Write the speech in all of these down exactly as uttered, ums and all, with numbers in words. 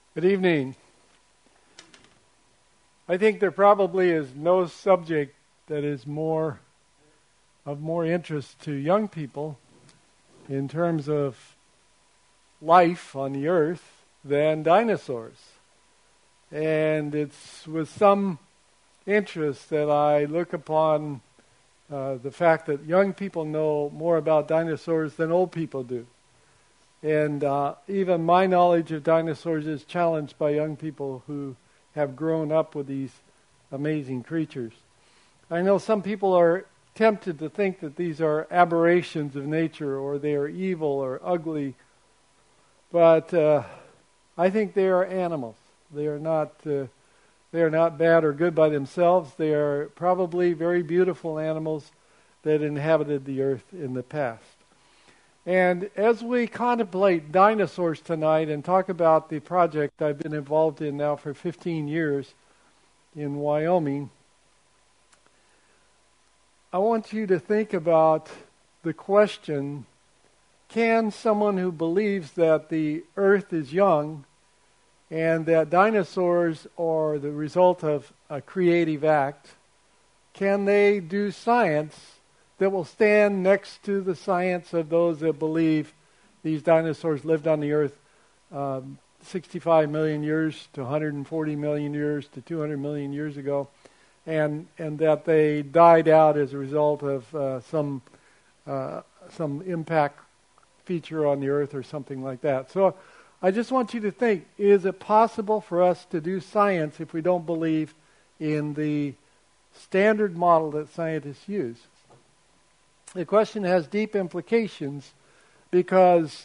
Good evening. I think there probably is no subject that is more of more interest to young people in terms of life on the earth than dinosaurs. And it's with some interest that I look upon uh, the fact that young people know more about dinosaurs than old people do. And uh, even my knowledge of dinosaurs is challenged by young people who have grown up with these amazing creatures. I know some people are tempted to think that these are aberrations of nature or they are evil or ugly, but uh, I think they are animals. They are not uh, they are not bad or good by themselves. They are probably very beautiful animals that inhabited the earth in the past. And as we contemplate dinosaurs tonight and talk about the project I've been involved in now for fifteen years in Wyoming, I want you to think about the question, can someone who believes that the earth is young and that dinosaurs are the result of a creative act, can they do science that will stand next to the science of those that believe these dinosaurs lived on the earth um, sixty-five million years to one hundred forty million years to two hundred million years ago, and and that they died out as a result of uh, some uh, some impact feature on the earth or something like that. So I just want you to think, is it possible for us to do science if we don't believe in the standard model that scientists use? The question has deep implications because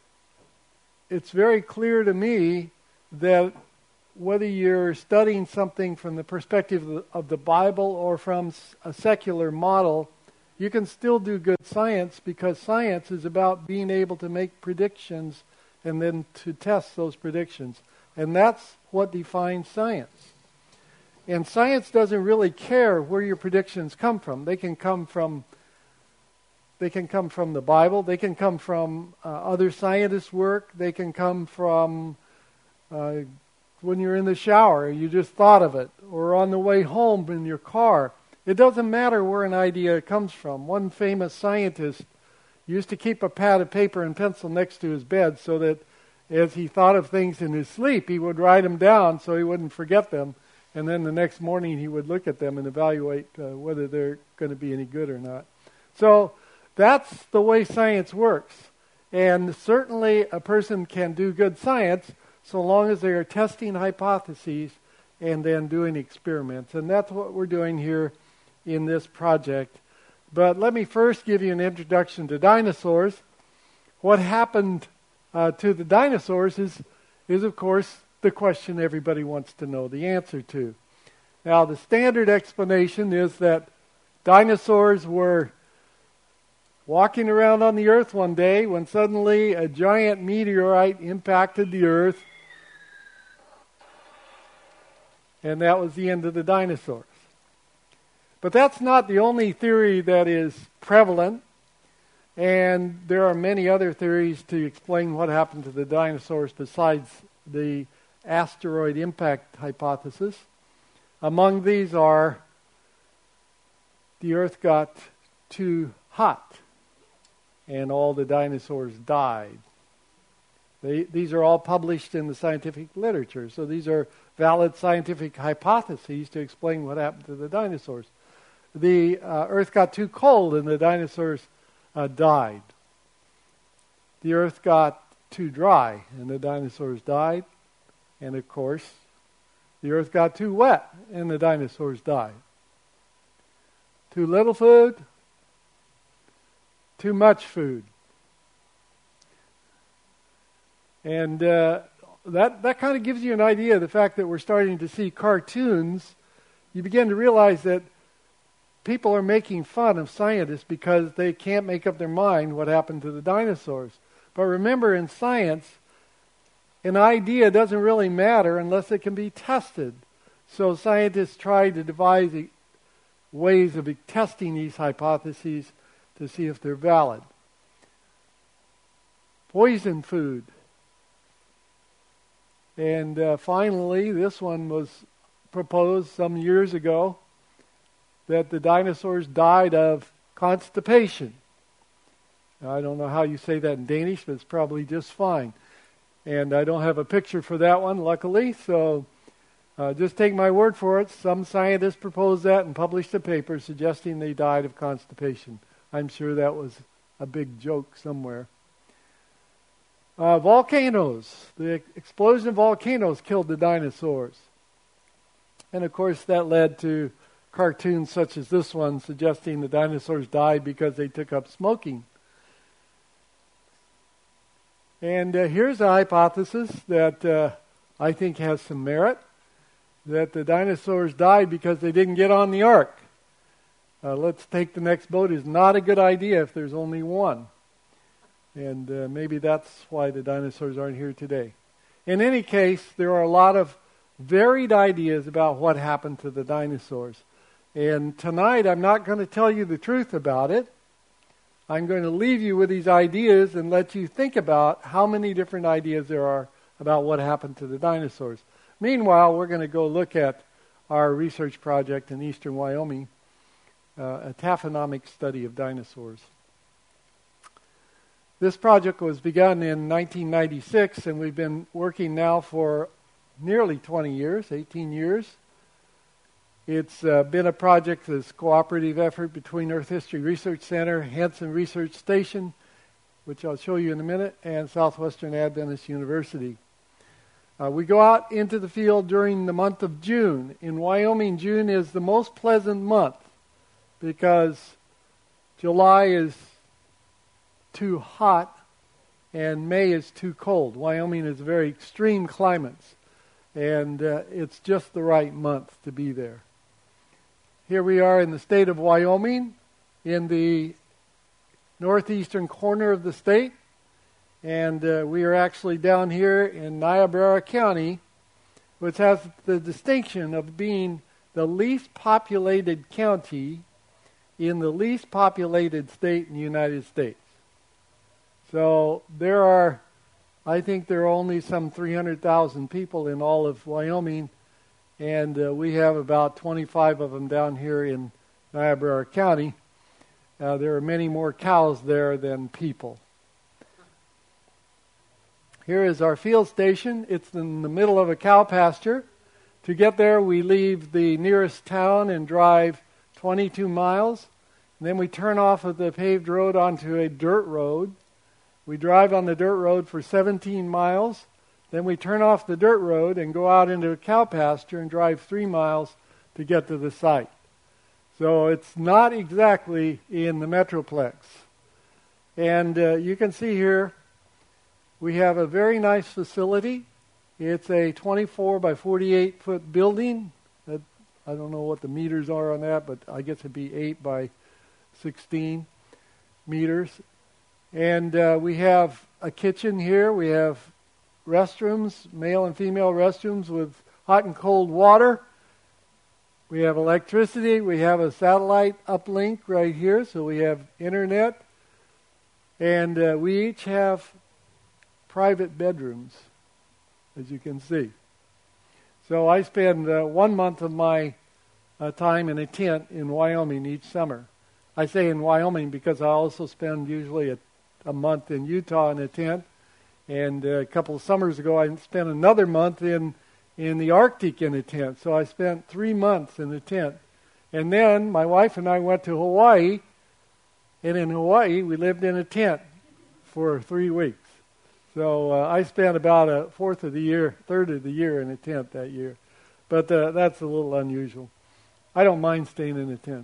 it's very clear to me that whether you're studying something from the perspective of the, of the Bible or from a secular model, you can still do good science because science is about being able to make predictions and then to test those predictions. And that's what defines science. And science doesn't really care where your predictions come from. They can come from They can come from the Bible. They can come from uh, other scientists' work. They can come from uh, when you're in the shower, you just thought of it, or on the way home in your car. It doesn't matter where an idea comes from. One famous scientist used to keep a pad of paper and pencil next to his bed so that as he thought of things in his sleep, he would write them down so he wouldn't forget them. And then the next morning he would look at them and evaluate uh, whether they're going to be any good or not. So that's the way science works. And certainly a person can do good science so long as they are testing hypotheses and then doing experiments. And that's what we're doing here in this project. But let me first give you an introduction to dinosaurs. What happened uh, to the dinosaurs is, is, of course, the question everybody wants to know the answer to. Now, the standard explanation is that dinosaurs were walking around on the earth one day when suddenly a giant meteorite impacted the earth, and that was the end of the dinosaurs. But that's not the only theory that is prevalent, and there are many other theories to explain what happened to the dinosaurs besides the asteroid impact hypothesis. Among these are the earth got too hot and all the dinosaurs died. They, these are all published in the scientific literature, so these are valid scientific hypotheses to explain what happened to the dinosaurs. The uh, earth got too cold and the dinosaurs uh, died. The earth got too dry and the dinosaurs died. And of course, the earth got too wet and the dinosaurs died. Too little food, too much food. And uh, that, that kind of gives you an idea of the fact that we're starting to see cartoons. You begin to realize that people are making fun of scientists because they can't make up their mind what happened to the dinosaurs. But remember, in science, an idea doesn't really matter unless it can be tested. So scientists try to devise ways of testing these hypotheses to see if they're valid. Poison food. And uh, finally, this one was proposed some years ago, that the dinosaurs died of constipation. Now, I don't know how you say that in Danish, but it's probably just fine. And I don't have a picture for that one, luckily, so uh, just take my word for it. Some scientists proposed that and published a paper suggesting they died of constipation. I'm sure that was a big joke somewhere. Uh, volcanoes. The explosion of volcanoes killed the dinosaurs. And of course that led to cartoons such as this one suggesting the dinosaurs died because they took up smoking. And uh, here's a hypothesis that uh, I think has some merit, that the dinosaurs died because they didn't get on the ark. Uh, let's take the next boat is not a good idea if there's only one. And uh, maybe that's why the dinosaurs aren't here today. In any case, there are a lot of varied ideas about what happened to the dinosaurs. And tonight I'm not going to tell you the truth about it. I'm going to leave you with these ideas and let you think about how many different ideas there are about what happened to the dinosaurs. Meanwhile, we're going to go look at our research project in eastern Wyoming, uh, a taphonomic study of dinosaurs. This project was begun in nineteen ninety-six, and we've been working now for nearly twenty years, eighteen years. It's uh, been a project that's a cooperative effort between Earth History Research Center, Hansen Research Station, which I'll show you in a minute, and Southwestern Adventist University. Uh, we go out into the field during the month of June. In Wyoming, June is the most pleasant month because July is too hot and May is too cold. Wyoming is very extreme climates, and uh, it's just the right month to be there. Here we are in the state of Wyoming, in the northeastern corner of the state, and uh, we are actually down here in Niobrara County, which has the distinction of being the least populated county in the least populated state in the United States. So there are, I think there are only some three hundred thousand people in all of Wyoming, and uh, we have about twenty-five of them down here in Niobrara County. Uh, there are many more cows there than people. Here is our field station. It's in the middle of a cow pasture. To get there, we leave the nearest town and drive twenty-two miles. And then we turn off of the paved road onto a dirt road. We drive on the dirt road for seventeen miles. Then we turn off the dirt road and go out into a cow pasture and drive three miles to get to the site. So it's not exactly in the Metroplex. And uh, you can see here, we have a very nice facility. It's a twenty-four by forty-eight foot building. That, I don't know what the meters are on that, but I guess it'd be eight by sixteen meters. And uh, we have a kitchen here. We have restrooms, male and female restrooms with hot and cold water. We have electricity. We have a satellite uplink right here, so we have internet. And uh, we each have private bedrooms, as you can see. So I spend uh, one month of my uh, time in a tent in Wyoming each summer. I say in Wyoming because I also spend usually a, a month in Utah in a tent. And uh, a couple of summers ago, I spent another month in, in the Arctic in a tent. So I spent three months in a tent. And then my wife and I went to Hawaii. And in Hawaii, we lived in a tent for three weeks. So uh, I spent about a fourth of the year, third of the year in a tent that year. But uh, that's a little unusual. I don't mind staying in a tent.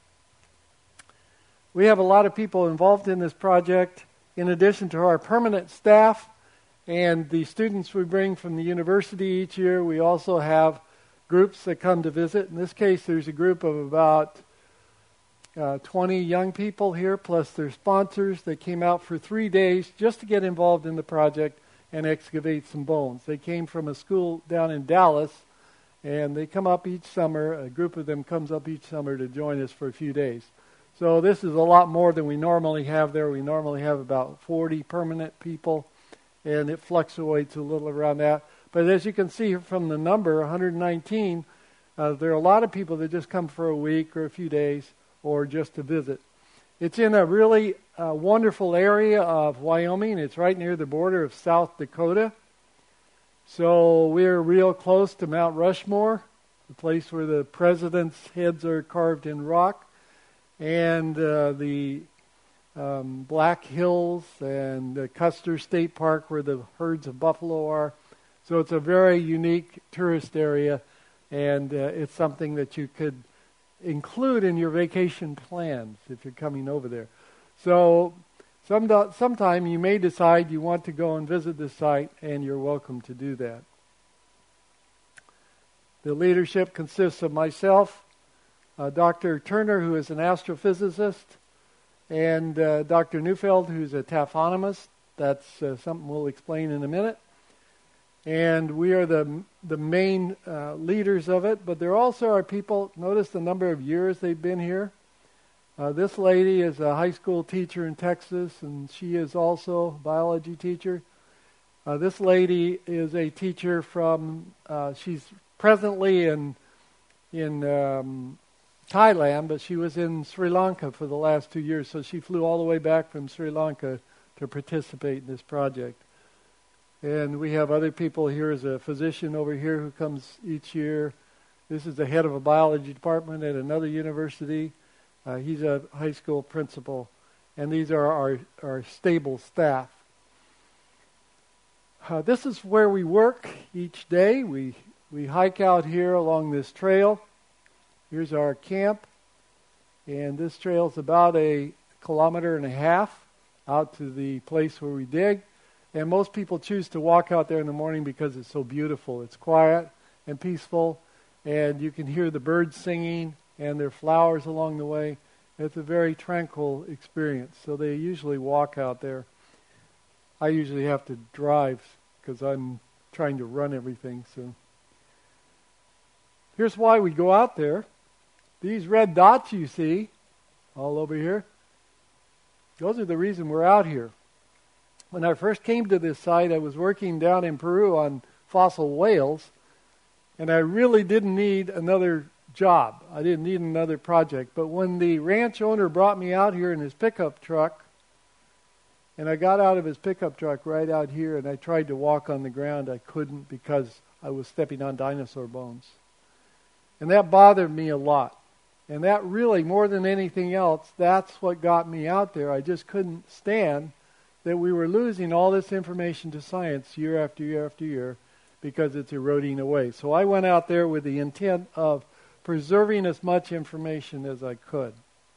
We have a lot of people involved in this project. In addition to our permanent staff and the students we bring from the university each year, we also have groups that come to visit. In this case, there's a group of about uh, twenty young people here, plus their sponsors that came out for three days just to get involved in the project and excavate some bones. They came from a school down in Dallas, and they come up each summer. A group of them comes up each summer to join us for a few days. So this is a lot more than we normally have there. We normally have about forty permanent people, and it fluctuates a little around that. But as you can see from the number, one hundred nineteen, uh, there are a lot of people that just come for a week or a few days or just to visit. It's in a really uh, wonderful area of Wyoming. It's right near the border of South Dakota. So we're real close to Mount Rushmore, the place where the presidents' heads are carved in rock, and uh, the um, Black Hills and the Custer State Park where the herds of buffalo are. So it's a very unique tourist area, and uh, it's something that you could include in your vacation plans if you're coming over there. So some sometime you may decide you want to go and visit this site, and you're welcome to do that. The leadership consists of myself, uh, Doctor Turner, who is an astrophysicist, and uh, Doctor Neufeld, who's a taphonomist. That's uh, something we'll explain in a minute. And we are the the main uh, leaders of it, but there also are people. Notice the number of years they've been here. Uh, this lady is a high school teacher in Texas, and she is also a biology teacher. Uh, this lady is a teacher from, uh, she's presently in in um, Thailand, but she was in Sri Lanka for the last two years, so she flew all the way back from Sri Lanka to participate in this project. And we have other people here. As a physician over here who comes each year. This is the head of a biology department at another university. Uh, he's a high school principal. And these are our, our stable staff. Uh, this is where we work each day. We, we hike out here along this trail. Here's our camp. And this trail is about a kilometer and a half out to the place where we dig. And most people choose to walk out there in the morning because it's so beautiful. It's quiet and peaceful, and you can hear the birds singing, and there are flowers along the way. It's a very tranquil experience. So they usually walk out there. I usually have to drive because I'm trying to run everything. So here's why we go out there. These red dots you see all over here, those are the reason we're out here. When I first came to this site, I was working down in Peru on fossil whales, and I really didn't need another job. I didn't need another project. But when the ranch owner brought me out here in his pickup truck, and I got out of his pickup truck right out here, and I tried to walk on the ground, I couldn't because I was stepping on dinosaur bones. And that bothered me a lot. And that really, more than anything else, that's what got me out there. I just couldn't stand that we were losing all this information to science year after year after year because it's eroding away. So I went out there with the intent of preserving as much information as I could.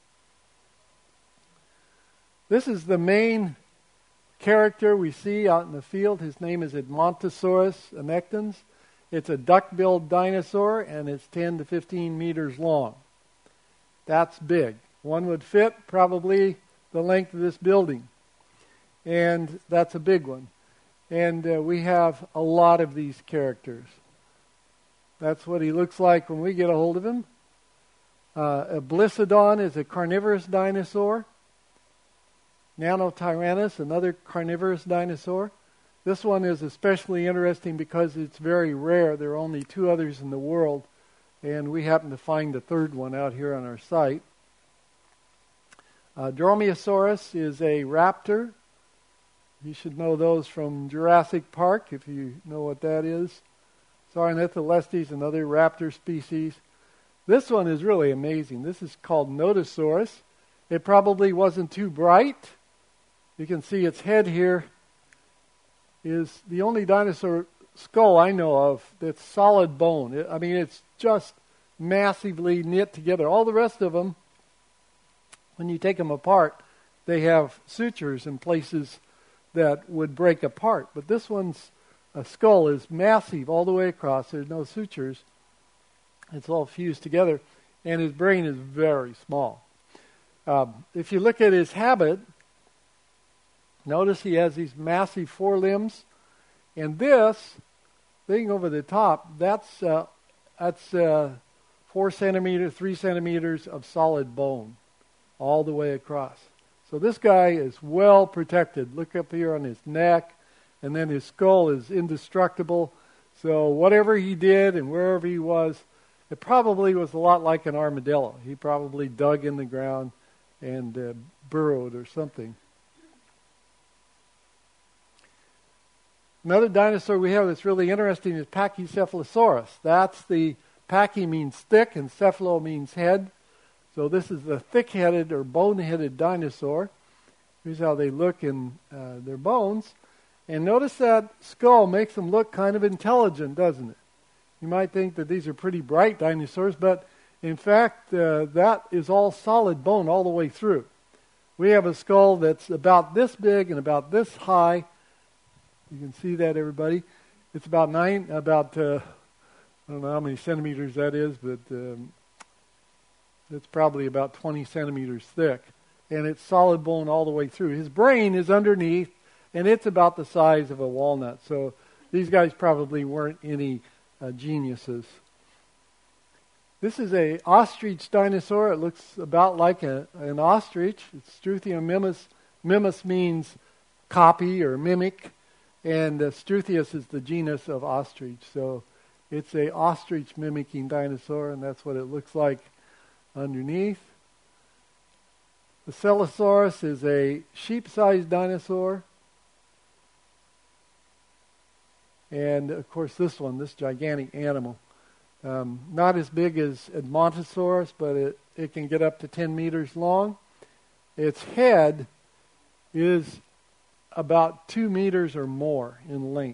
This is the main character we see out in the field. His name is Edmontosaurus annectens. It's a duck-billed dinosaur, and it's ten to fifteen meters long. That's big. One would fit probably the length of this building. And that's a big one. And uh, we have a lot of these characters. That's what he looks like when we get a hold of him. Uh, a Blisodon is a carnivorous dinosaur. Nanotyrannus, another carnivorous dinosaur. This one is especially interesting because it's very rare. There are only two others in the world, and we happen to find the third one out here on our site. Uh, Dromaeosaurus is a raptor. You should know those from Jurassic Park, if you know what that is. Saurornitholestes, another raptor species. This one is really amazing. This is called Nodosaurus. It probably wasn't too bright. You can see its head here is the only dinosaur skull I know of that's solid bone. It, I mean, it's just massively knit together. All the rest of them, when you take them apart, they have sutures in places that would break apart. But this one's uh, skull is massive all the way across. There's no sutures. It's all fused together. And his brain is very small. Um, if you look at his habit, notice he has these massive forelimbs. And this thing over the top, that's uh, that's uh, four centimeters, three centimeters of solid bone all the way across. So this guy is well protected. Look up here on his neck, and then his skull is indestructible. So whatever he did and wherever he was, it probably was a lot like an armadillo. He probably dug in the ground and uh, burrowed or something. Another dinosaur we have that's really interesting is Pachycephalosaurus. That's the, pachy means thick and cephalo means head. So this is the thick-headed or bone-headed dinosaur. Here's how they look in uh, their bones. And notice that skull makes them look kind of intelligent, doesn't it? You might think that these are pretty bright dinosaurs, but in fact, uh, that is all solid bone all the way through. We have a skull that's about this big and about this high. You can see that, everybody. It's about nine, about, uh, I don't know how many centimeters that is, but um, it's probably about twenty centimeters thick. And it's solid bone all the way through. His brain is underneath, and it's about the size of a walnut. So these guys probably weren't any uh, geniuses. This is a ostrich dinosaur. It looks about like a, an ostrich. It's Struthia mimus. Mimus means copy or mimic. And uh, Struthius is the genus of ostrich. So it's a ostrich mimicking dinosaur, and that's what it looks like underneath. The Celosaurus is a sheep-sized dinosaur. And, of course, this one, this gigantic animal. Um, not as big as Edmontosaurus, but it, it can get up to ten meters long. Its head is about two meters or more in length.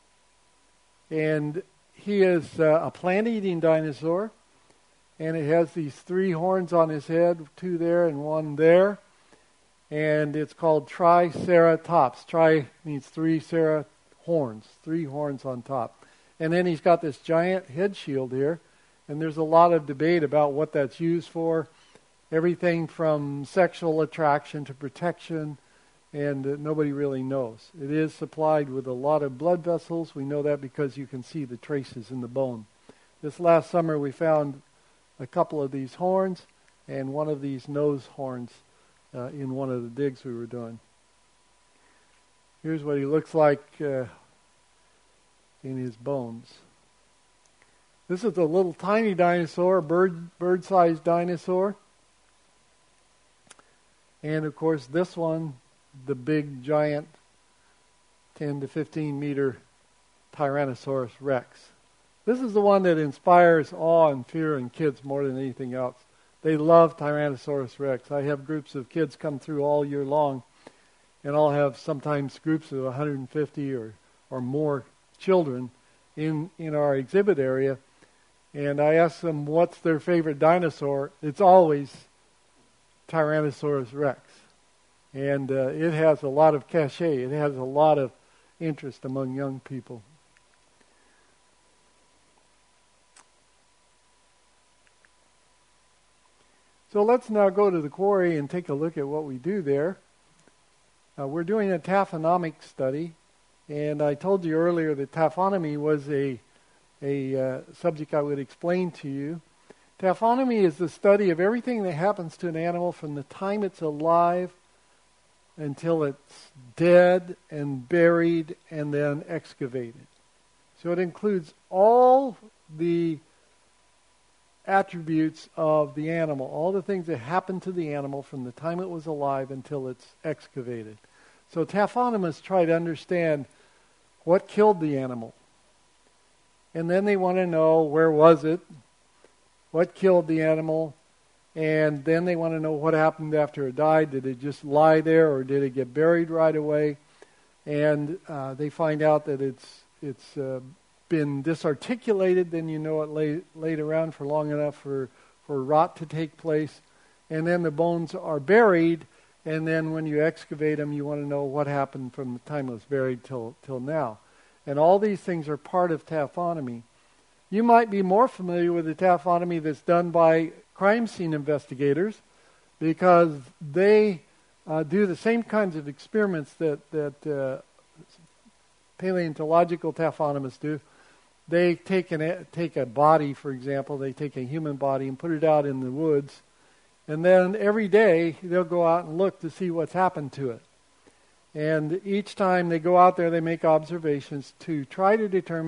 And he is uh, a plant-eating dinosaur. And it has these three horns on his head, two there and one there. And it's called Triceratops. Tri means three, cera, horns, three horns on top. And then he's got this giant head shield here. And there's a lot of debate about what that's used for. Everything from sexual attraction to protection. And uh, nobody really knows. It is supplied with a lot of blood vessels. We know that because you can see the traces in the bone. This last summer we found a couple of these horns and one of these nose horns uh, in one of the digs we were doing. Here's what he looks like uh, in his bones. This is a little tiny dinosaur, bird, bird-sized dinosaur. And of course this one, the big giant ten to fifteen meter Tyrannosaurus Rex. This is the one that inspires awe and fear in kids more than anything else. They love Tyrannosaurus Rex. I have groups of kids come through all year long, and I'll have sometimes groups of one hundred fifty or, or more children in, in our exhibit area, and I ask them what's their favorite dinosaur. It's always Tyrannosaurus Rex. And uh, it has a lot of cachet. It has a lot of interest among young people. So let's now go to the quarry and take a look at what we do there. Uh, we're doing a taphonomic study, and I told you earlier that taphonomy was a, a uh, subject I would explain to you. Taphonomy is the study of everything that happens to an animal from the time it's alive until it's dead and buried and then excavated. So it includes all the attributes of the animal, all the things that happen to the animal from the time it was alive until it's excavated. So taphonomists try to understand what killed the animal. And then they want to know where was it, what killed the animal, and then they want to know what happened after it died. Did it just lie there or did it get buried right away? And uh, they find out that it's it's uh, been disarticulated, then you know it lay, laid around for long enough for, for rot to take place. And then the bones are buried, and then when you excavate them, you want to know what happened from the time it was buried till till now. And all these things are part of taphonomy. You might be more familiar with the taphonomy that's done by crime scene investigators, because they uh, do the same kinds of experiments that, that uh, paleontological taphonomists do. They take, an, take a body, for example, they take a human body and put it out in the woods, and then every day they'll go out and look to see what's happened to it. And each time they go out there, they make observations to try to determine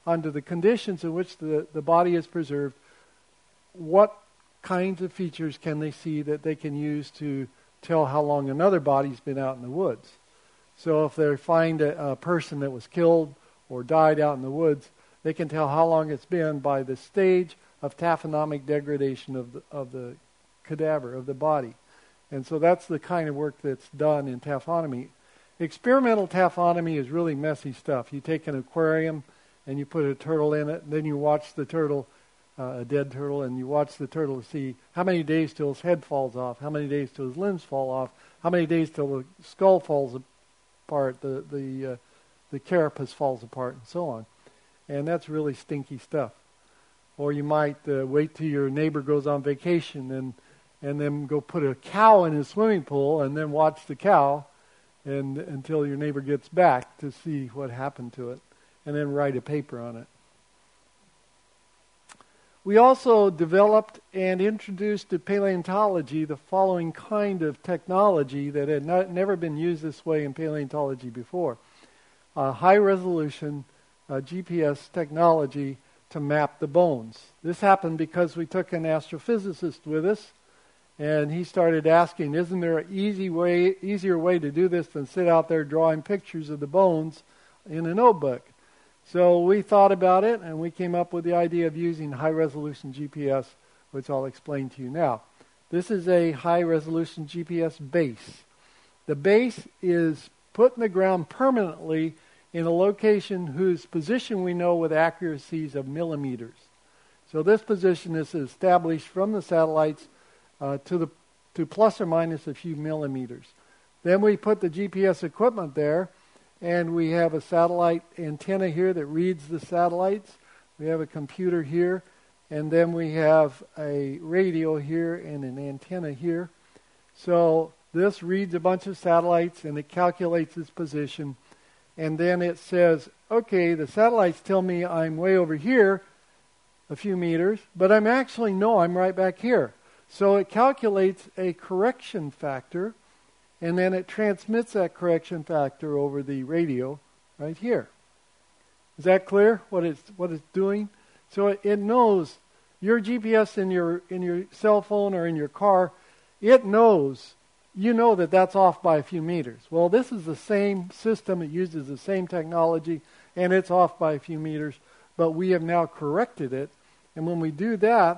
under the conditions in which the, the body is preserved, what kinds of features can they see that they can use to tell how long another body's been out in the woods. So if they find a, a person that was killed or died out in the woods, they can tell how long it's been by the stage of taphonomic degradation of the, of the cadaver, of the body. And so that's the kind of work that's done in taphonomy. Experimental taphonomy is really messy stuff. You take an aquarium and you put a turtle in it, and then you watch the turtle, uh, a dead turtle, and you watch the turtle to see how many days till his head falls off, how many days till his limbs fall off, how many days till the skull falls apart, the the uh, the carapace falls apart, and so on. And that's really stinky stuff. Or you might uh, wait till your neighbor goes on vacation and and then go put a cow in his swimming pool and then watch the cow and until your neighbor gets back to see what happened to it, and then write a paper on it. We also developed and introduced to paleontology the following kind of technology that had not, never been used this way in paleontology before. Uh, high-resolution uh, G P S technology to map the bones. This happened because we took an astrophysicist with us, and he started asking, isn't there an easy way, easier way to do this than sit out there drawing pictures of the bones in a notebook? So we thought about it, and we came up with the idea of using high-resolution G P S, which I'll explain to you now. This is a high-resolution G P S base. The base is put in the ground permanently in a location whose position we know with accuracies of millimeters. So this position is established from the satellites uh, to the to plus or minus a few millimeters. Then we put the G P S equipment there, and we have a satellite antenna here that reads the satellites. We have a computer here, and then we have a radio here and an antenna here. So this reads a bunch of satellites, and it calculates its position. And then it says, okay, the satellites tell me I'm way over here a few meters, but I'm actually, no, I'm right back here. So it calculates a correction factor, and then it transmits that correction factor over the radio right here. Is that clear, what it's, what it's doing? So it, it knows your G P S in your, in your cell phone or in your car, it knows, you know that that's off by a few meters. Well, this is the same system. It uses the same technology, and it's off by a few meters, but we have now corrected it. And when we do that,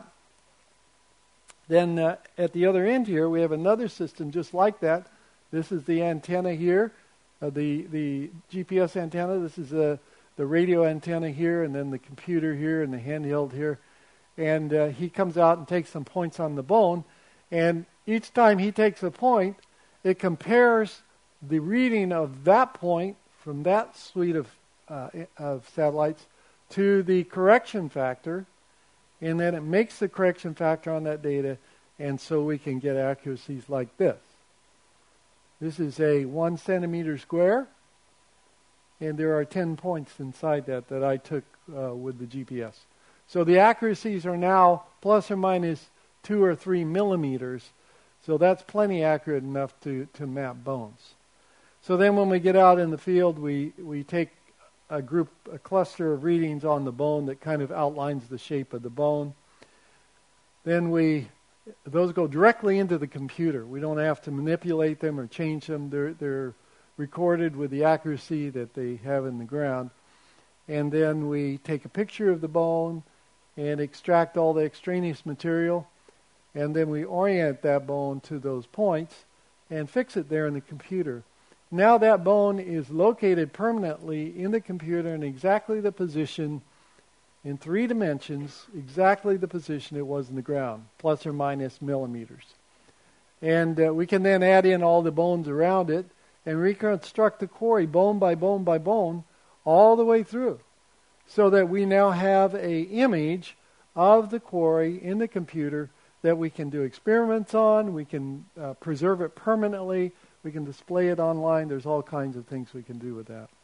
then uh, at the other end here, we have another system just like that. This is the antenna here, uh, the, the G P S antenna. This is the, the radio antenna here, and then the computer here, and the handheld here. And uh, he comes out and takes some points on the bone, and each time he takes a point, it compares the reading of that point from that suite of, uh, of satellites to the correction factor, and then it makes the correction factor on that data, and so we can get accuracies like this. This is a one centimeter square, and there are ten points inside that that I took uh, with the G P S. So the accuracies are now plus or minus two or three millimeters. So that's plenty accurate enough to, to map bones. So then when we get out in the field, we, we take a group, a cluster of readings on the bone that kind of outlines the shape of the bone. Then we, those go directly into the computer. We don't have to manipulate them or change them. They're, they're recorded with the accuracy that they have in the ground. And then we take a picture of the bone and extract all the extraneous material. And then we orient that bone to those points and fix it there in the computer. Now that bone is located permanently in the computer in exactly the position, in three dimensions, exactly the position it was in the ground, plus or minus millimeters. And uh, we can then add in all the bones around it and reconstruct the quarry bone by bone by bone all the way through, so that we now have an image of the quarry in the computer that we can do experiments on, we can uh, preserve it permanently, we can display it online. There's all kinds of things we can do with that.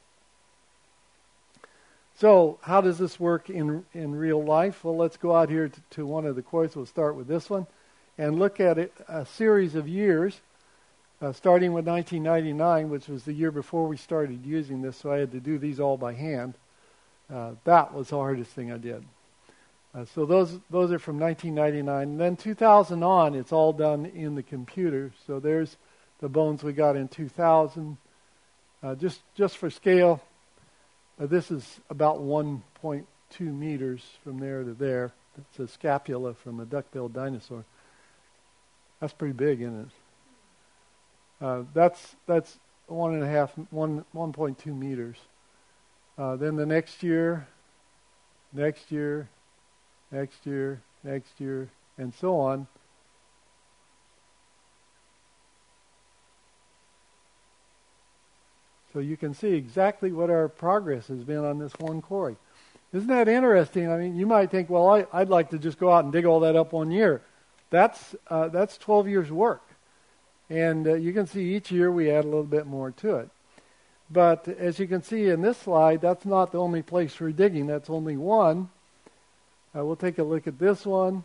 So how does this work in in real life? Well, let's go out here to, to one of the quarries. We'll start with this one and look at it a series of years, uh, starting with nineteen ninety-nine, which was the year before we started using this, so I had to do these all by hand. Uh, that was the hardest thing I did. Uh, so those those are from nineteen ninety-nine. And then two thousand on, it's all done in the computer. So there's the bones we got in two thousand. Uh, just just for scale, uh, this is about one point two meters from there to there. It's a scapula from a duck-billed dinosaur. That's pretty big, isn't it? Uh, that's that's one and a half, one one point two meters. Uh, then the next year, next year, next year, next year, and so on. So you can see exactly what our progress has been on this one quarry. Isn't that interesting? I mean, you might think, well, I, I'd like to just go out and dig all that up one year. That's uh, that's twelve years' work. And uh, you can see each year we add a little bit more to it. But as you can see in this slide, that's not the only place we're digging. That's only one. Uh, we'll take a look at this one.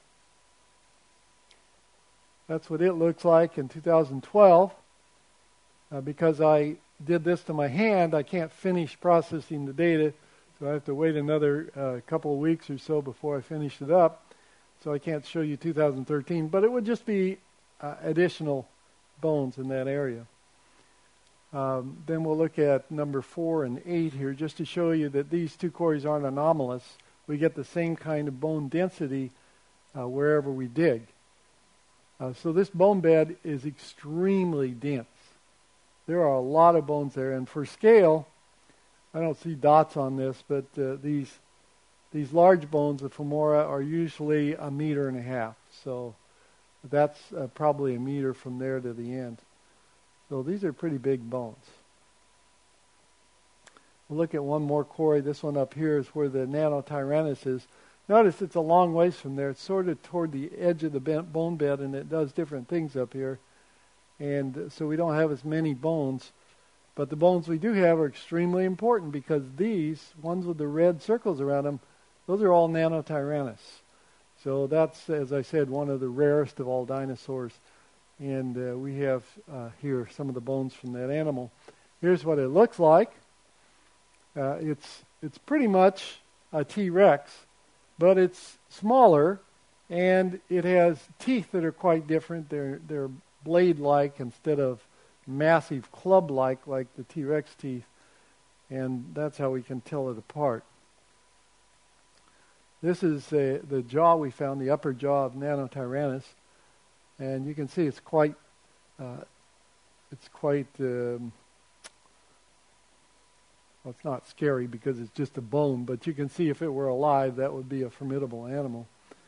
That's what it looks like in two thousand twelve. Uh, because I did this to my hand, I can't finish processing the data, so I have to wait another uh, couple of weeks or so before I finish it up. So I can't show you two thousand thirteen, but it would just be uh, additional bones in that area. Um, then we'll look at number four and eight here, just to show you that these two quarries aren't anomalous. We get the same kind of bone density uh, wherever we dig. Uh, so this bone bed is extremely dense. There are a lot of bones there, and for scale, I don't see dots on this, but uh, these these large bones of femora are usually a meter and a half. So that's uh, probably a meter from there to the end. So these are pretty big bones. We'll look at one more quarry. This one up here is where the Nanotyrannus is. Notice it's a long ways from there. It's sort of toward the edge of the bone bed, and it does different things up here. And so we don't have as many bones. But the bones we do have are extremely important because these, ones with the red circles around them, those are all Nanotyrannus. So that's, as I said, one of the rarest of all dinosaurs. And uh, we have uh, here some of the bones from that animal. Here's what it looks like. Uh, it's it's pretty much a T-Rex, but it's smaller, and it has teeth that are quite different. They're they're blade-like instead of massive club-like like the T-Rex teeth, and that's how we can tell it apart. This is uh, the jaw we found, the upper jaw of Nanotyrannus, and you can see it's quite uh, it's quite um, well, it's not scary because it's just a bone, but you can see if it were alive, that would be a formidable animal.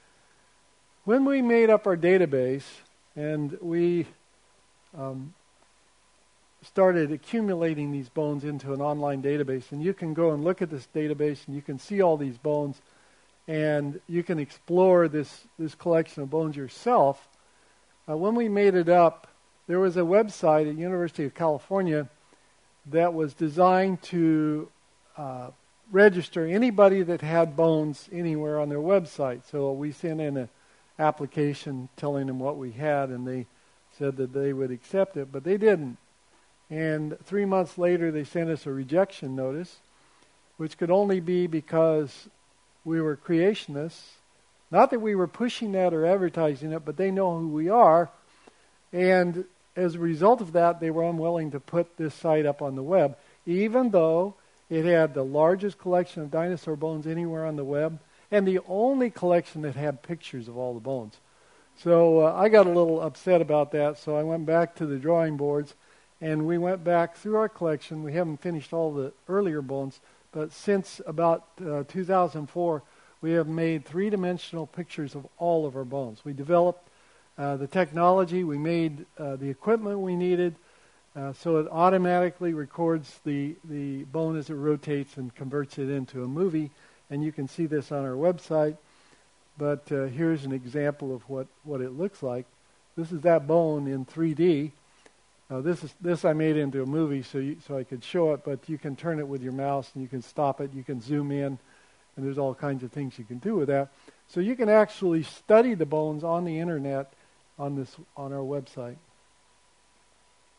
When we made up our database and we um, started accumulating these bones into an online database, and you can go and look at this database and you can see all these bones, and you can explore this, this collection of bones yourself. Uh, when we made it up, there was a website at University of California that was designed to uh, register anybody that had bones anywhere on their website. So we sent in an application telling them what we had, and they said that they would accept it, but they didn't. And three months later, they sent us a rejection notice, which could only be because we were creationists. Not that we were pushing that or advertising it, but they know who we are. And as a result of that, they were unwilling to put this site up on the web, even though it had the largest collection of dinosaur bones anywhere on the web, and the only collection that had pictures of all the bones. So uh, I got a little upset about that, so I went back to the drawing boards, and we went back through our collection. We haven't finished all the earlier bones, but since about uh, two thousand four, we have made three-dimensional pictures of all of our bones. We developed Uh, the technology, we made uh, the equipment we needed, uh, so it automatically records the, the bone as it rotates and converts it into a movie, and you can see this on our website. But uh, here's an example of what, what it looks like. This is that bone in three D. Uh, this is this I made into a movie so you, so I could show it, but you can turn it with your mouse and you can stop it, you can zoom in, and there's all kinds of things you can do with that. So you can actually study the bones on the internet on this on our website.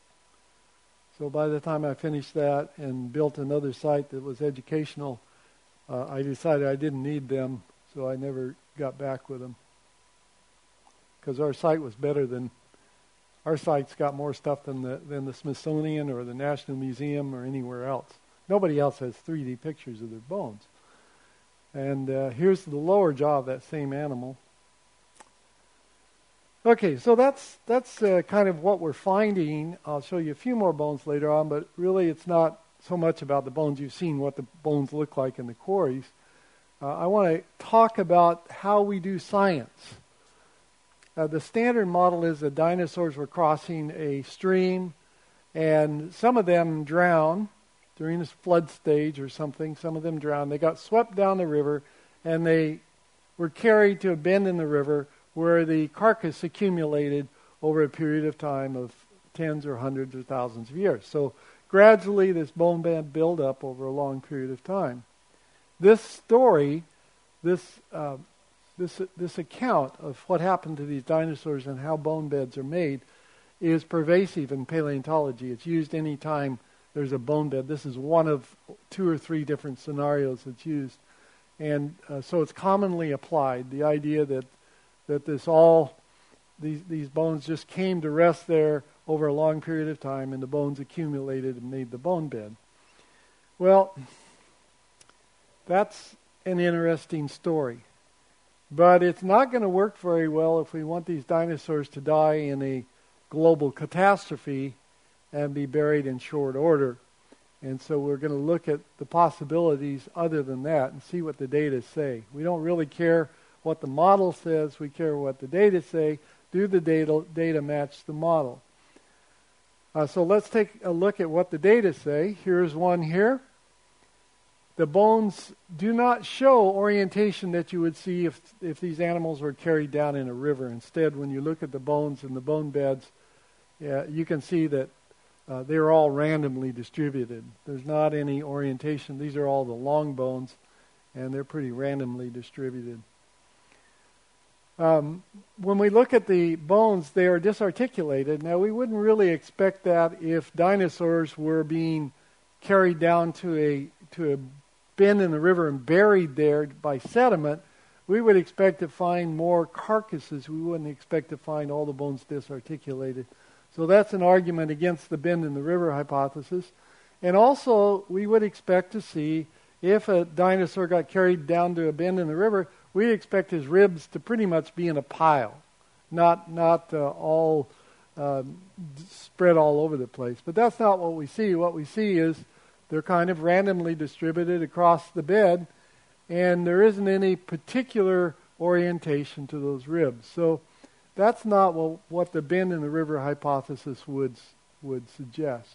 So by the time I finished that and built another site that was educational, uh, I decided I didn't need them, so I never got back with them. Because our site was better than, our site's got more stuff than the than the Smithsonian or the National Museum or anywhere else. Nobody else has three D pictures of their bones. And uh, here's the lower jaw of that same animal. Okay, so that's that's uh, kind of what we're finding. I'll show you a few more bones later on, but really it's not so much about the bones. You've seen what the bones look like in the quarries. Uh, I want to talk about how we do science. Uh, the standard model is that dinosaurs were crossing a stream, and some of them drowned during this flood stage or something. Some of them drowned. They got swept down the river, and they were carried to a bend in the river where the carcass accumulated over a period of time of tens or hundreds or thousands of years. So gradually this bone bed built up over a long period of time. This story, this uh, this this account of what happened to these dinosaurs and how bone beds are made is pervasive in paleontology. It's used any time there's a bone bed. This is one of two or three different scenarios that's used. And uh, so it's commonly applied, the idea that that this all, these these bones just came to rest there over a long period of time, and the bones accumulated and made the bone bed. Well, that's an interesting story. But it's not going to work very well if we want these dinosaurs to die in a global catastrophe and be buried in short order. And so we're going to look at the possibilities other than that and see what the data say. We don't really care what the model says. We care what the data say. Do the data, data match the model? Uh, so let's take a look at what the data say. Here's one here. The bones do not show orientation that you would see if, if these animals were carried down in a river. Instead, when you look at the bones in the bone beds, yeah, you can see that uh, they're all randomly distributed. There's not any orientation. These are all the long bones, and they're pretty randomly distributed. Um, when we look at the bones, they are disarticulated. Now, we wouldn't really expect that if dinosaurs were being carried down to a to a bend in the river and buried there by sediment. We would expect to find more carcasses. We wouldn't expect to find all the bones disarticulated. So that's an argument against the bend in the river hypothesis. And also, we would expect to see if a dinosaur got carried down to a bend in the river, we'd expect his ribs to pretty much be in a pile, not not uh, all uh, spread all over the place. But that's not what we see. What we see is they're kind of randomly distributed across the bed, and there isn't any particular orientation to those ribs. So that's not what, what the bend in the river hypothesis would would suggest.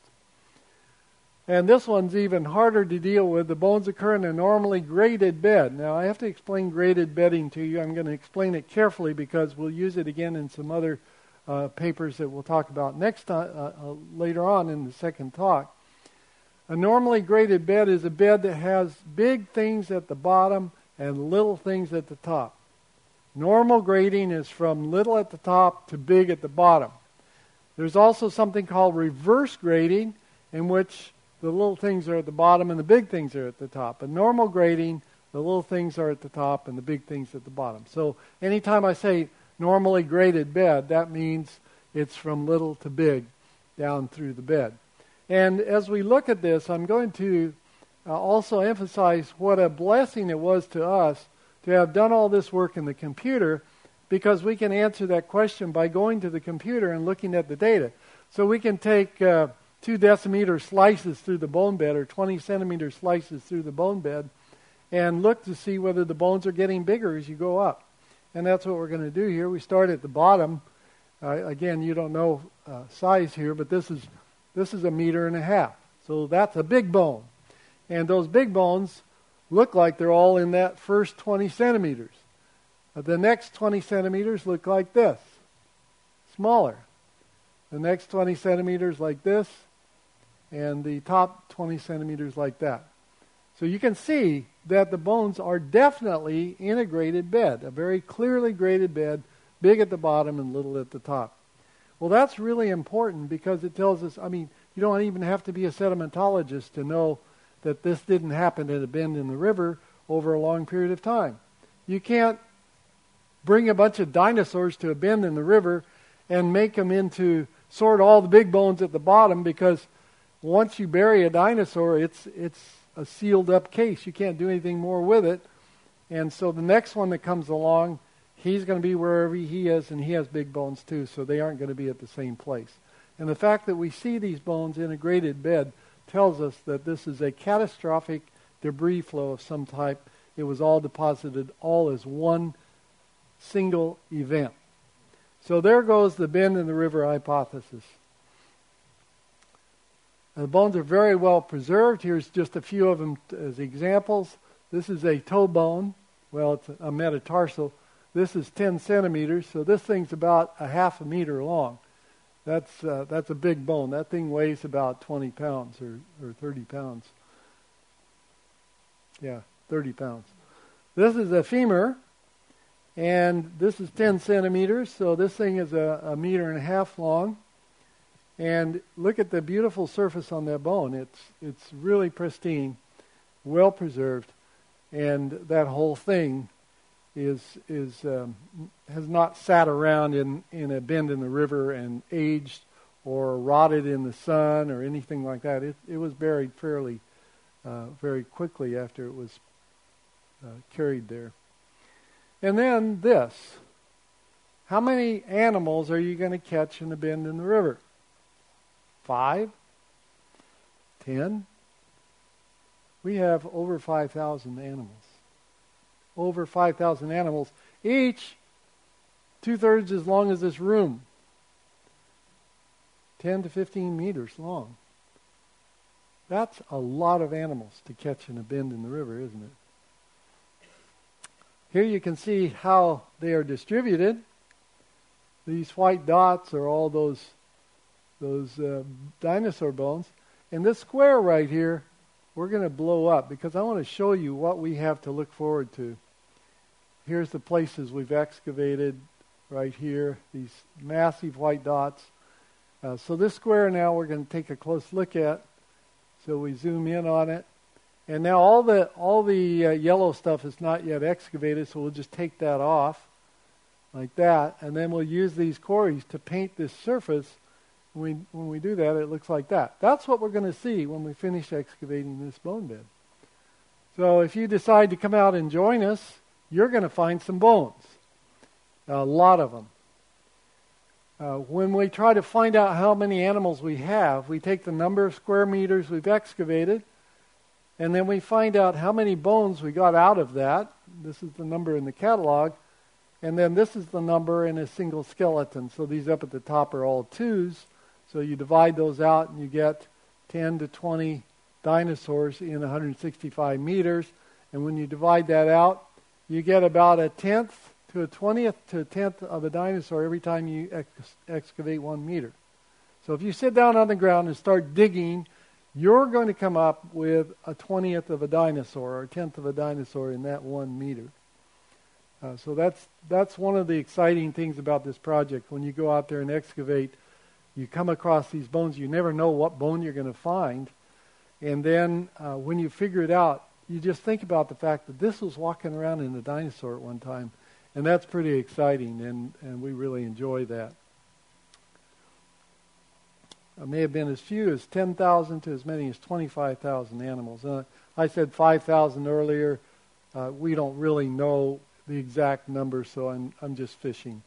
And this one's even harder to deal with. The bones occur in a normally graded bed. Now, I have to explain graded bedding to you. I'm going to explain it carefully because we'll use it again in some other uh, papers that we'll talk about next time, uh, uh, later on in the second talk. A normally graded bed is a bed that has big things at the bottom and little things at the top. Normal grading is from little at the top to big at the bottom. There's also something called reverse grading, in which the little things are at the bottom and the big things are at the top. In normal grading, the little things are at the top and the big things at the bottom. So anytime I say normally graded bed, that means it's from little to big down through the bed. And as we look at this, I'm going to uh, also emphasize what a blessing it was to us to have done all this work in the computer, because we can answer that question by going to the computer and looking at the data. So we can take uh, two decimeter slices through the bone bed or twenty centimeter slices through the bone bed and look to see whether the bones are getting bigger as you go up. And that's what we're going to do here. We start at the bottom. Uh, again, you don't know uh, size here, but this is This is a meter and a half. So that's a big bone. And those big bones look like they're all in that first twenty centimeters. Uh, the next twenty centimeters look like this, smaller. The next twenty centimeters like this, and the top twenty centimeters like that. So you can see that the bones are definitely in a graded bed, a very clearly graded bed, big at the bottom and little at the top. Well, that's really important because it tells us, I mean, you don't even have to be a sedimentologist to know that this didn't happen at a bend in the river over a long period of time. You can't bring a bunch of dinosaurs to a bend in the river and make them into, sort all the big bones at the bottom, because once you bury a dinosaur, it's it's a sealed up case. You can't do anything more with it. And so the next one that comes along, he's going to be wherever he is, and he has big bones too, so they aren't going to be at the same place. And the fact that we see these bones in a graded bed tells us that this is a catastrophic debris flow of some type. It was all deposited all as one single event. So there goes the bend in the river hypothesis. The bones are very well preserved. Here's just a few of them as examples. This is a toe bone. Well, it's a metatarsal. This is ten centimeters, so this thing's about a half a meter long. That's uh, that's a big bone. That thing weighs about twenty pounds or, or thirty pounds. Yeah, thirty pounds. This is a femur, and this is ten centimeters, so this thing is a, a meter and a half long. And look at the beautiful surface on that bone. It's it's really pristine, well preserved, and that whole thing is is um, has not sat around in, in a bend in the river and aged or rotted in the sun or anything like that. It it was buried fairly uh, very quickly after it was uh, carried there. And then this: how many animals are you going to catch in a bend in the river? Five? Ten? We have over five thousand animals. Over five thousand animals, each two-thirds as long as this room. ten to fifteen meters long. That's a lot of animals to catch in a bend in the river, isn't it? Here you can see how they are distributed. These white dots are all those those uh, dinosaur bones. And this square right here, we're going to blow up because I want to show you what we have to look forward to. Here's the places we've excavated right here, these massive white dots. Uh, so this square now we're going to take a close look at. So we zoom in on it. And now all the all the uh, yellow stuff is not yet excavated, so we'll just take that off like that. And then we'll use these quarries to paint this surface. When we, when we do that, it looks like that. That's what we're going to see when we finish excavating this bone bed. So if you decide to come out and join us, you're going to find some bones. A lot of them. Uh, when we try to find out how many animals we have, we take the number of square meters we've excavated, and then we find out how many bones we got out of that. This is the number in the catalog. And then this is the number in a single skeleton. So these up at the top are all twos. So you divide those out and you get ten to twenty dinosaurs in one hundred sixty-five meters. And when you divide that out, you get about a tenth to a twentieth to a tenth of a dinosaur every time you ex- excavate one meter. So if you sit down on the ground and start digging, you're going to come up with a twentieth of a dinosaur or a tenth of a dinosaur in that one meter. Uh, so that's that's one of the exciting things about this project. When you go out there and excavate, you come across these bones. You never know what bone you're going to find. And then uh, when you figure it out, you just think about the fact that this was walking around in a dinosaur at one time. And that's pretty exciting, and, and we really enjoy that. It may have been as few as ten thousand to as many as twenty-five thousand animals. Uh, I said five thousand earlier. Uh, we don't really know the exact number, so I'm, I'm just fishing.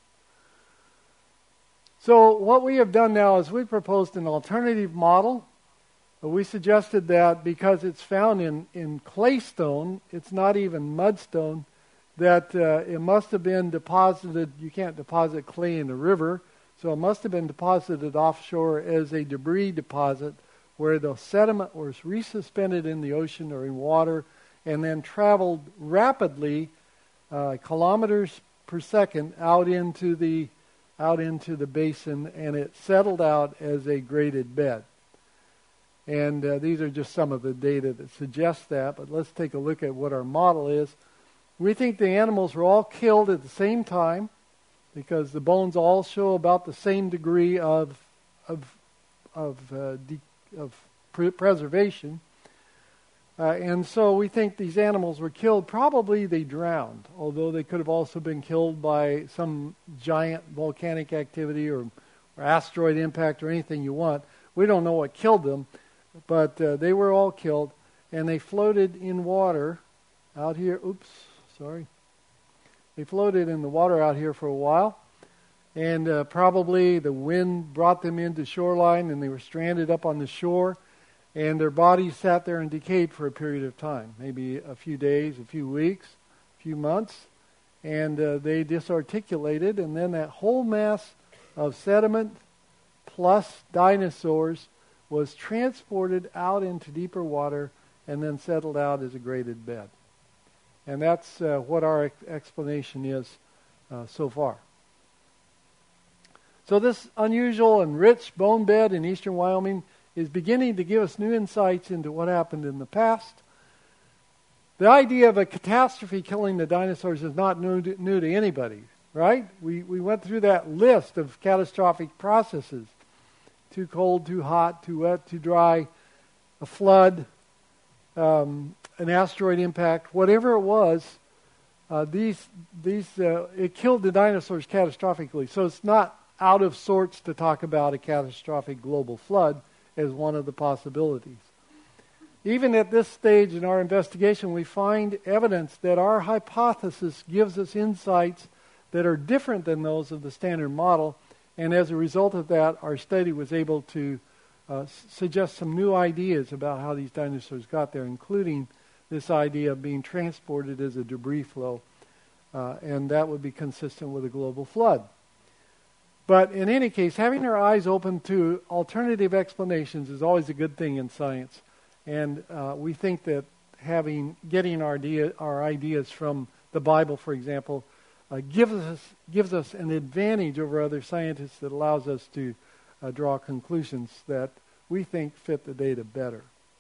So what we have done now is we proposed an alternative model. We suggested that because it's found in, in claystone, it's not even mudstone, that uh, it must have been deposited. You can't deposit clay in a river, so it must have been deposited offshore as a debris deposit where the sediment was resuspended in the ocean or in water and then traveled rapidly uh, kilometers per second out into the out into the basin, and it settled out as a graded bed. And uh, these are just some of the data that suggests that, but let's take a look at what our model is. We think the animals were all killed at the same time because the bones all show about the same degree of of of, uh, de- of pre- preservation. Uh, and so we think these animals were killed. Probably they drowned, although they could have also been killed by some giant volcanic activity or, or asteroid impact or anything you want. We don't know what killed them, but uh, they were all killed, and they floated in water out here. Oops, sorry. They floated in the water out here for a while, and uh, probably the wind brought them into shoreline, and they were stranded up on the shore. And their bodies sat there and decayed for a period of time, maybe a few days, a few weeks, a few months. And uh, they disarticulated, and then that whole mass of sediment plus dinosaurs was transported out into deeper water and then settled out as a graded bed. And that's uh, what our ex- explanation is uh, so far. So this unusual and rich bone bed in eastern Wyoming is beginning to give us new insights into what happened in the past. The idea of a catastrophe killing the dinosaurs is not new to, new to anybody, right? We we went through that list of catastrophic processes. Too cold, too hot, too wet, too dry, a flood, um, an asteroid impact, whatever it was, uh, these these uh, it killed the dinosaurs catastrophically. So it's not out of sorts to talk about a catastrophic global flood as one of the possibilities. Even at this stage in our investigation, we find evidence that our hypothesis gives us insights that are different than those of the standard model, and as a result of that, our study was able to uh, s- suggest some new ideas about how these dinosaurs got there, including this idea of being transported as a debris flow, uh, and that would be consistent with a global flood. But in any case, having our eyes open to alternative explanations is always a good thing in science. And uh, we think that having getting our, idea, our ideas from the Bible, for example, uh, gives us gives us an advantage over other scientists that allows us to uh, draw conclusions that we think fit the data better.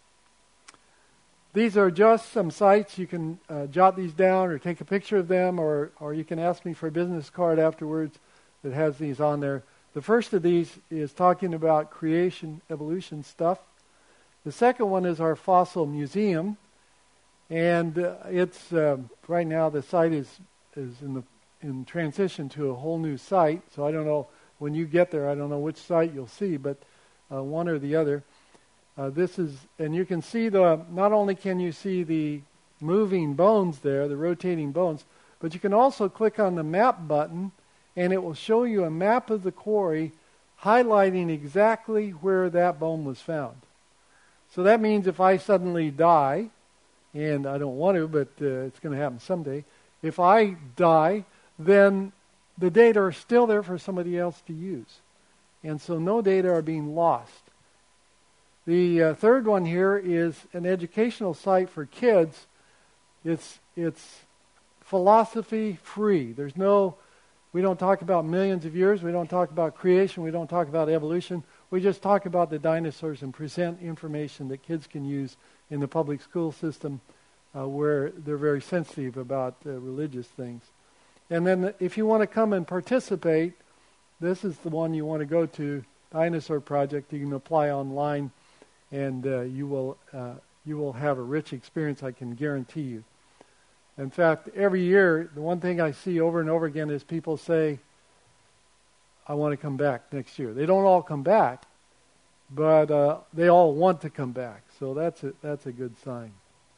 These are just some sites. You can uh, jot these down or take a picture of them, or or you can ask me for a business card afterwards that has these on there. The first of these is talking about creation, evolution stuff. The second one is our fossil museum, and uh, it's uh, right now the site is is in the in transition to a whole new site. So I don't know when you get there. I don't know which site you'll see, but uh, one or the other. Uh, this is, and you can see the. Not only can you see the moving bones there, the rotating bones, but you can also click on the map button, and it will show you a map of the quarry highlighting exactly where that bone was found. So that means if I suddenly die, and I don't want to, but uh, it's going to happen someday, if I die, then the data are still there for somebody else to use. And so no data are being lost. The uh, third one here is an educational site for kids. It's it's philosophy free. There's no We don't talk about millions of years. We don't talk about creation. We don't talk about evolution. We just talk about the dinosaurs and present information that kids can use in the public school system uh, where they're very sensitive about uh, religious things. And then if you want to come and participate, this is the one you want to go to, Dinosaur Project. You can apply online, and uh, you will uh, you will have a rich experience, I can guarantee you. In fact, every year, the one thing I see over and over again is people say, I want to come back next year. They don't all come back, but uh, they all want to come back. So that's a, that's a good sign.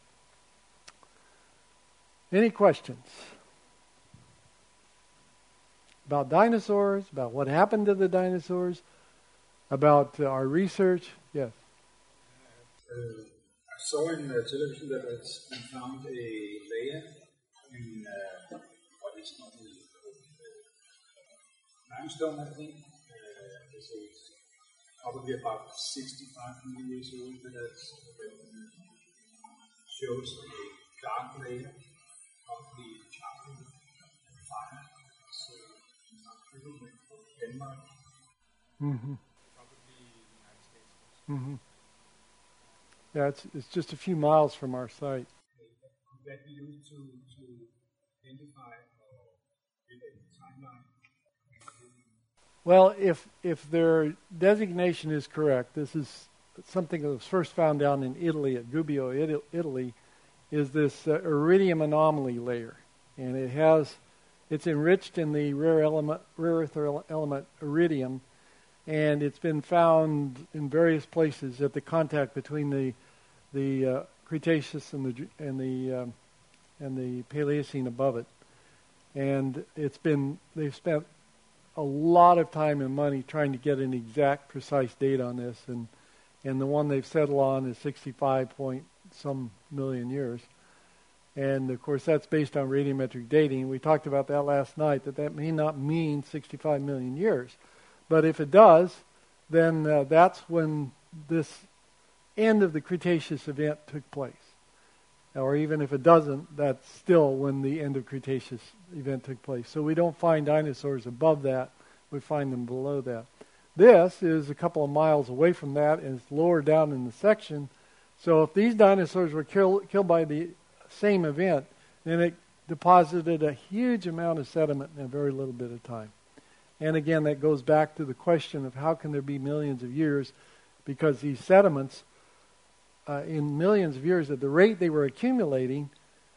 Any questions? About dinosaurs, about what happened to the dinosaurs, about uh, our research? Yes. Uh, I saw in the television that it's been found a layer in uh, what is called uh, limestone, I think. Uh, this is probably about sixty-five million years old, but that shows a dark layer of the charcoal fire. So, probably Denmark, Mm-hmm. probably the United States. Mm-hmm. Yeah, it's it's just a few miles from our site. Could that be used to, to identify or give a timeline? Well, if if their designation is correct, this is something that was first found down in Italy, at Gubbio, Ita- Italy, is this uh, iridium anomaly layer. And it has, it's enriched in the rare element, rare earth element iridium, and it's been found in various places at the contact between the the uh, Cretaceous and the and the um, and the Paleocene above it. And it's been, they've spent a lot of time and money trying to get an exact, precise date on this, and and the one they've settled on is sixty-five point some million years. And of course, that's based on radiometric dating. We talked about that last night, that that may not mean sixty-five million years. But if it does, then uh, that's when this end of the Cretaceous event took place. Or even if it doesn't, that's still when the end of Cretaceous event took place. So we don't find dinosaurs above that. We find them below that. This is a couple of miles away from that, and it's lower down in the section. So if these dinosaurs were kill, killed by the same event, then it deposited a huge amount of sediment in a very little bit of time. And again, that goes back to the question of how can there be millions of years, because these sediments, uh, in millions of years, at the rate they were accumulating,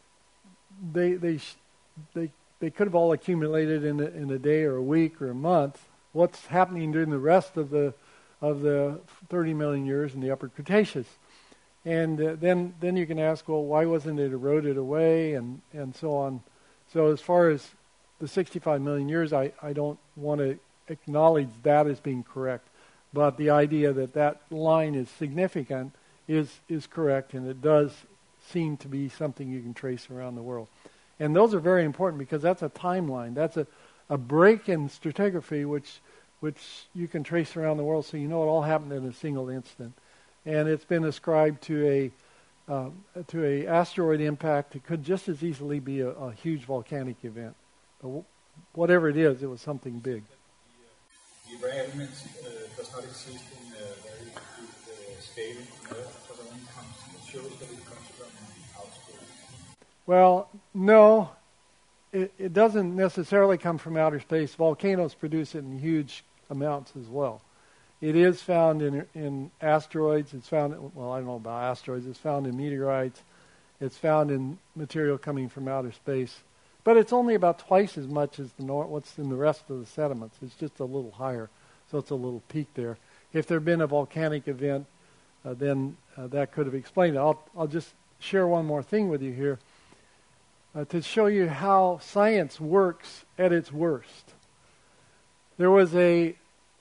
they they they they could have all accumulated in a, in a day or a week or a month. What's happening during the rest of the of the thirty million years in the Upper Cretaceous? And uh, then then you can ask, well, why wasn't it eroded away, and, and so on. So as far as the sixty-five million years, I, I don't want to acknowledge that as being correct. But the idea that that line is significant is is correct, and it does seem to be something you can trace around the world. And those are very important because that's a timeline. That's a, a break in stratigraphy which which you can trace around the world, so you know it all happened in a single instant. And it's been ascribed to a uh, to a asteroid impact. It could just as easily be a, a huge volcanic event. But w- whatever it is, it was something big. The rare element uh, does not exist in a very good uh, scale on Earth, but it only comes, it shows that it comes from outer space. Well, no, it, it doesn't necessarily come from outer space. Volcanoes produce it in huge amounts as well. It is found in in asteroids. It's found, well, I don't know about asteroids. It's found in meteorites. It's found in material coming from outer space. But it's only about twice as much as the nor- what's in the rest of the sediments. It's just a little higher, so it's a little peak there. If there had been a volcanic event, uh, then uh, that could have explained it. I'll, I'll just share one more thing with you here uh, to show you how science works at its worst. There was a,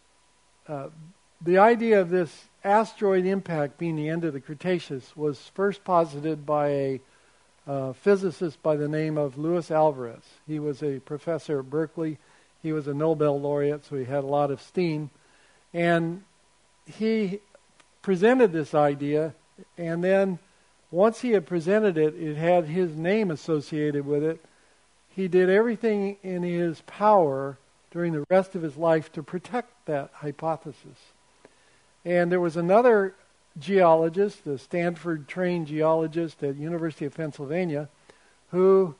uh, the idea of this asteroid impact being the end of the Cretaceous was first posited by a Uh, physicist by the name of Luis Alvarez. He was a professor at Berkeley. He was a Nobel laureate, so he had a lot of steam. And he presented this idea, and then once he had presented it, it had his name associated with it. He did everything in his power during the rest of his life to protect that hypothesis. And there was another geologist, a Stanford-trained geologist at University of Pennsylvania, who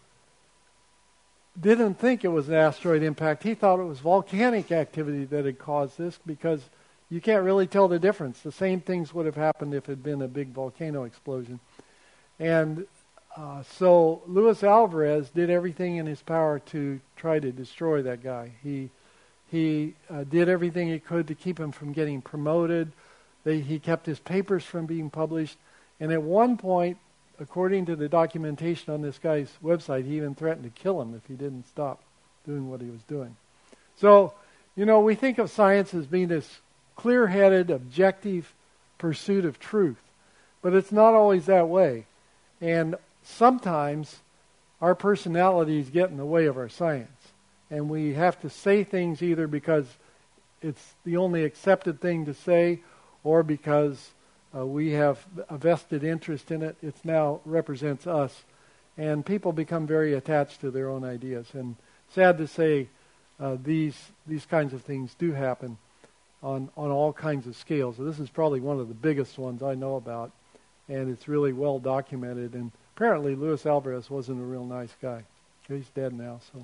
didn't think it was an asteroid impact. He thought it was volcanic activity that had caused this, because you can't really tell the difference. The same things would have happened if it had been a big volcano explosion. And uh, so Luis Alvarez did everything in his power to try to destroy that guy. He he uh, did everything he could to keep him from getting promoted. They, he kept his papers from being published. And at one point, according to the documentation on this guy's website, he even threatened to kill him if he didn't stop doing what he was doing. So, you know, we think of science as being this clear-headed, objective pursuit of truth. But it's not always that way. And sometimes our personalities get in the way of our science. And we have to say things either because it's the only accepted thing to say, or because uh, we have a vested interest in it. It now represents us. And people become very attached to their own ideas. And sad to say, uh, these these kinds of things do happen on, on all kinds of scales. So this is probably one of the biggest ones I know about. And it's really well documented. And apparently Luis Alvarez wasn't a real nice guy. He's dead now. So,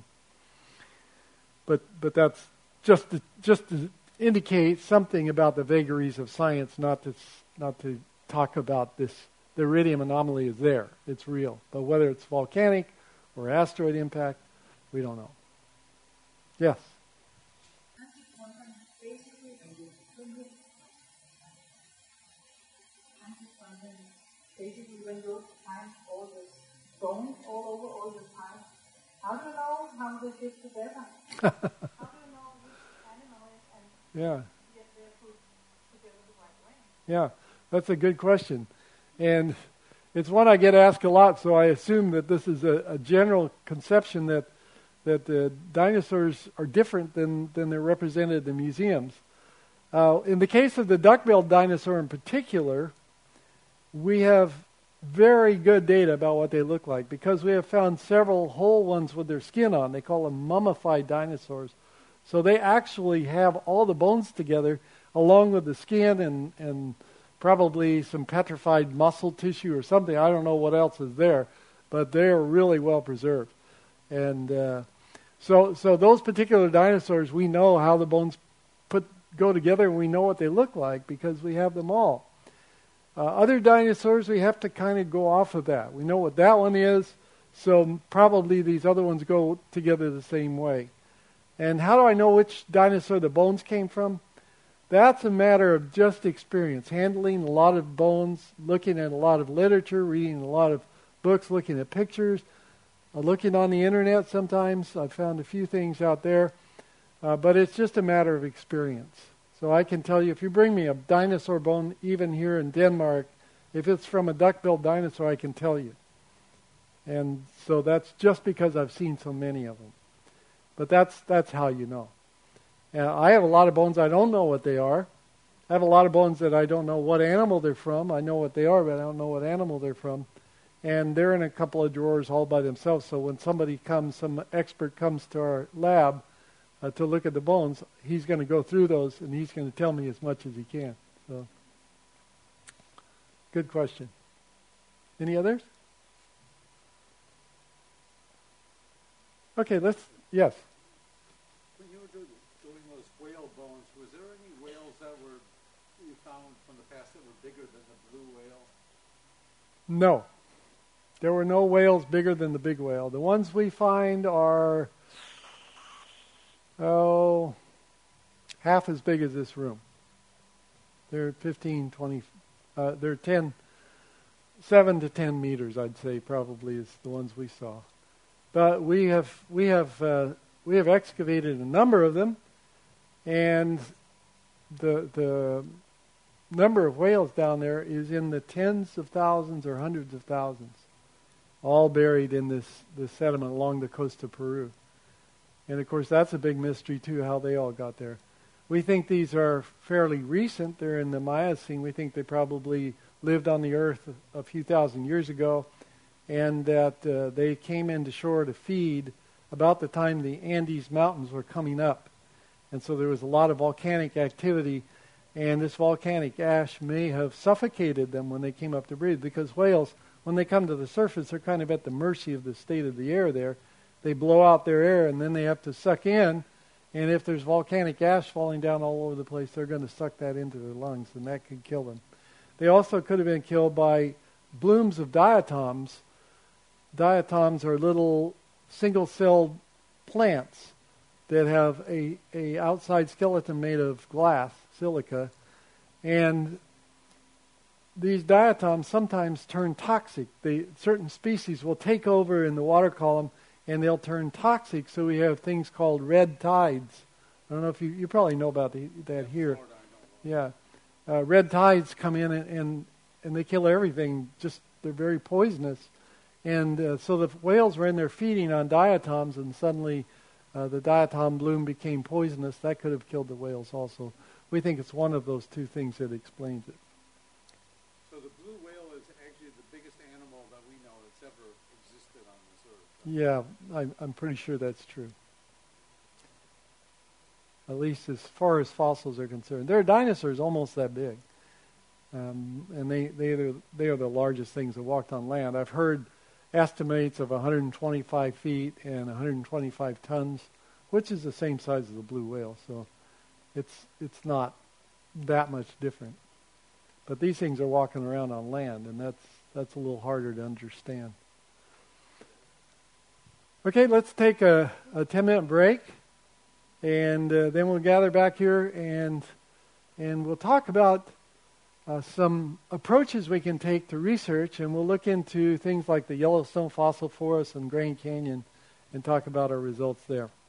But but that's just to, just to indicate something about the vagaries of science, not to not to talk about this. The iridium anomaly is there; it's real. But whether it's volcanic or asteroid impact, we don't know. Yes. Basically, when you find all the bones all over all the time, how do you know how they fit together? How do you know which animal is and Yeah. get their food together the right way? Yeah, that's a good question. And it's one I get asked a lot, so I assume that this is a, a general conception that that the dinosaurs are different than, than they're represented in museums. Uh, in the case of the duck-billed dinosaur in particular, we have very good data about what they look like because we have found several whole ones with their skin on. They call them mummified dinosaurs. So they actually have all the bones together along with the skin and, and probably some petrified muscle tissue or something. I don't know what else is there, but they're really well preserved. And uh, so so those particular dinosaurs, we know how the bones put go together and we know what they look like because we have them all. Uh, other dinosaurs, we have to kind of go off of that. We know what that one is, so probably these other ones go together the same way. And how do I know which dinosaur the bones came from? That's a matter of just experience, handling a lot of bones, looking at a lot of literature, reading a lot of books, looking at pictures, uh, looking on the internet sometimes. I've found a few things out there, uh, but it's just a matter of experience. So I can tell you, if you bring me a dinosaur bone, even here in Denmark, if it's from a duck-billed dinosaur, I can tell you. And so that's just because I've seen so many of them. But that's that's how you know. And I have a lot of bones I don't know what they are. I have a lot of bones that I don't know what animal they're from. I know what they are, but I don't know what animal they're from. And they're in a couple of drawers all by themselves. So when somebody comes, some expert comes to our lab, Uh, to look at the bones, he's going to go through those and he's going to tell me as much as he can. So, good question. Any others? Okay, let's, yes. When you were do, doing those whale bones, was there any whales that were you found from the past that were bigger than the blue whale? No. There were no whales bigger than the big whale. The ones we find are Oh, half as big as this room. They're fifteen, twenty, uh, they're ten, seven to ten meters, I'd say, probably is the ones we saw. But we have we have uh, we have excavated a number of them, and the the number of whales down there is in the tens of thousands or hundreds of thousands, all buried in this this sediment along the coast of Peru. And, of course, that's a big mystery, too, how they all got there. We think these are fairly recent. They're in the Miocene. We think they probably lived on the earth a, a few thousand years ago, and that uh, they came into shore to feed about the time the Andes Mountains were coming up. And so there was a lot of volcanic activity, and this volcanic ash may have suffocated them when they came up to breathe, because whales, when they come to the surface, they're kind of at the mercy of the state of the air there. They blow out their air, and then they have to suck in. And if there's volcanic ash falling down all over the place, they're going to suck that into their lungs, and that could kill them. They also could have been killed by blooms of diatoms. Diatoms are little single-celled plants that have a, a outside skeleton made of glass, silica. And these diatoms sometimes turn toxic. They, certain species will take over in the water column, and they'll turn toxic, so we have things called red tides. I don't know if you, you probably know about the, that here. Yeah. Uh, red tides come in, and, and, and they kill everything. Just, they're very poisonous. And uh, so the whales were in there feeding on diatoms, and suddenly uh, the diatom bloom became poisonous. That could have killed the whales also. We think it's one of those two things that explains it. So the blue whale is actually the biggest animal that we know that's ever existed on this earth. Yeah, I'm, I'm pretty sure that's true. At least as far as fossils are concerned. There are dinosaurs almost that big. Um, and they, they, are, they are the largest things that walked on land. I've heard estimates of one hundred twenty-five feet and one hundred twenty-five tons, which is the same size as the blue whale. So it's it's not that much different. But these things are walking around on land, and that's that's a little harder to understand. Okay, let's take a, a ten-minute break, and uh, then we'll gather back here, and and we'll talk about uh, some approaches we can take to research, and we'll look into things like the Yellowstone Fossil Forest and Grand Canyon and talk about our results there.